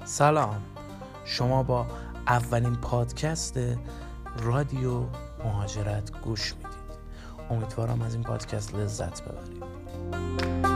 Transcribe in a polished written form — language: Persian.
سلام، شما با اولین پادکست رادیو مهاجرت گوش میدید. امیدوارم از این پادکست لذت ببرید.